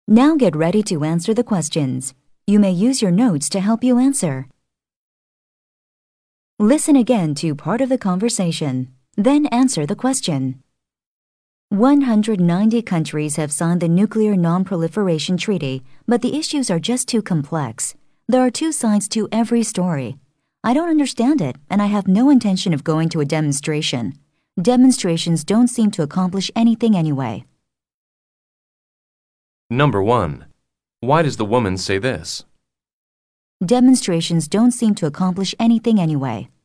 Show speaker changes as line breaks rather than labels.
Now get ready to answer the questions. You may use your notes to help you answer. Listen again to part of the conversation, then answer the question. 190 countries have signed the Nuclear Non-Proliferation Treaty, but the issues are just too complex. There are two sides to every story. I don't understand it, and I have no intention of going to a demonstration. Demonstrations don't seem to accomplish anything anyway.
Number 1. Why does the woman say this?
Demonstrations don't seem to accomplish anything anyway.